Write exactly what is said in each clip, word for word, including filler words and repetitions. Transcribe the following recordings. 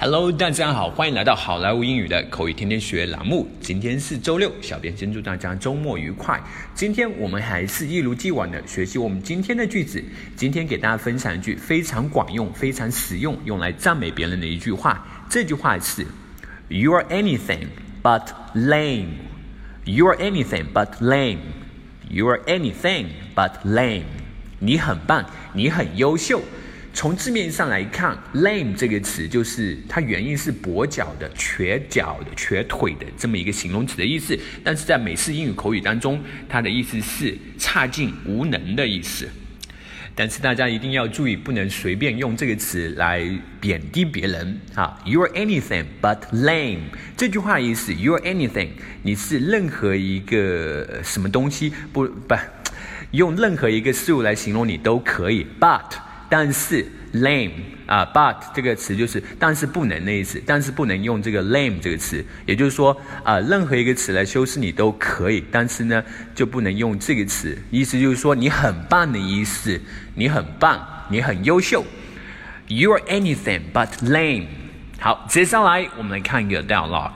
Hello， 大家好，欢迎来到好莱坞英语的口语天天学栏目。今天是周六，小编先祝大家周末愉快。今天我们还是一如既往的学习我们今天的句子。今天给大家分享一句非常管用、非常实用，用来赞美别人的一句话。这句话是 You are anything but lame. You are anything but lame. You are anything but lame. 你很棒，你很优秀。从字面上来看 lame 这个词就是它原意是跛脚的、瘸脚的、瘸腿的这么一个形容词的意思，但是在美式英语口语当中，它的意思是差劲、无能的意思。但是大家一定要注意，不能随便用这个词来贬低别人啊 You are anything but lame 这句话的意思 You are anything 你是任何一个什么东西不不用任何一个事物来形容你都可以 But但是 lame 啊 but 这个词就是但是不能的意思，但是不能用这个 lame 这个词，也就是说啊、呃，任何一个词来修饰你都可以，但是呢就不能用这个词，意思就是说你很棒的意思，你很棒，你很优秀。You are anything but lame。好，接下来我们来看一个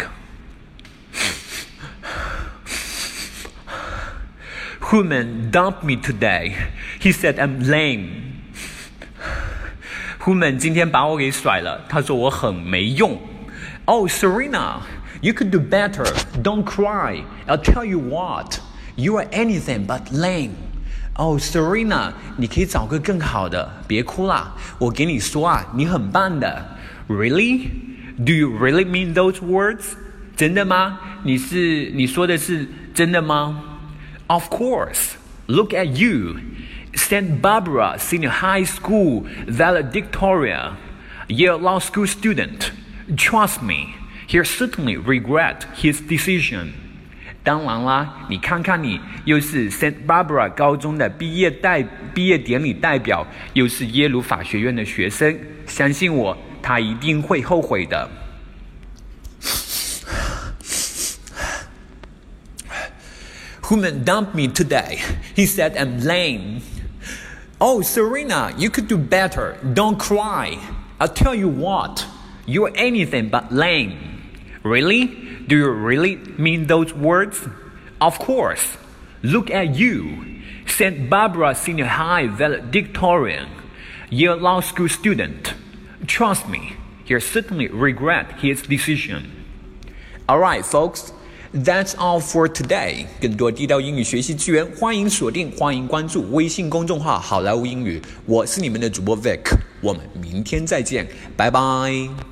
dialogue。Human dumped me today. He said I'm lame.Human 今天把我给甩了，他说我很没用。Oh, Serena, you could do better. Don't cry. I'll tell you what. You are anything but lame. Oh, Serena, 你可以找个更好的，别哭啦。我给你说啊，你很棒的。Really? Do you really mean those words? 真的吗？你是你说的是真的吗？ Of course. Look at you.Saint Barbara Senior High School valedictorian, Yale Law School student. Trust me, he'll certainly regret his decision. 当然啦，你看看你，又是 Saint Barbara 高中的毕业代毕业典礼代表，又是耶鲁法学院的学生，相信我，他一定会后悔的。Human dumped me today. He said I'm lame.Oh, Serena, you could do better. Don't cry. I'll tell you what. You're anything but lame. Really? Do you really mean those words? Of course. Look at you. Saint Barbara Senior High valedictorian, Yale Law School student. Trust me, he'll certainly regret his decision. All right, folks.That's all for today. 更多地道英语学习资源，欢迎锁定，欢迎关注微信公众号好莱坞英语。我是你们的主播 Vic， 我们明天再见，拜拜。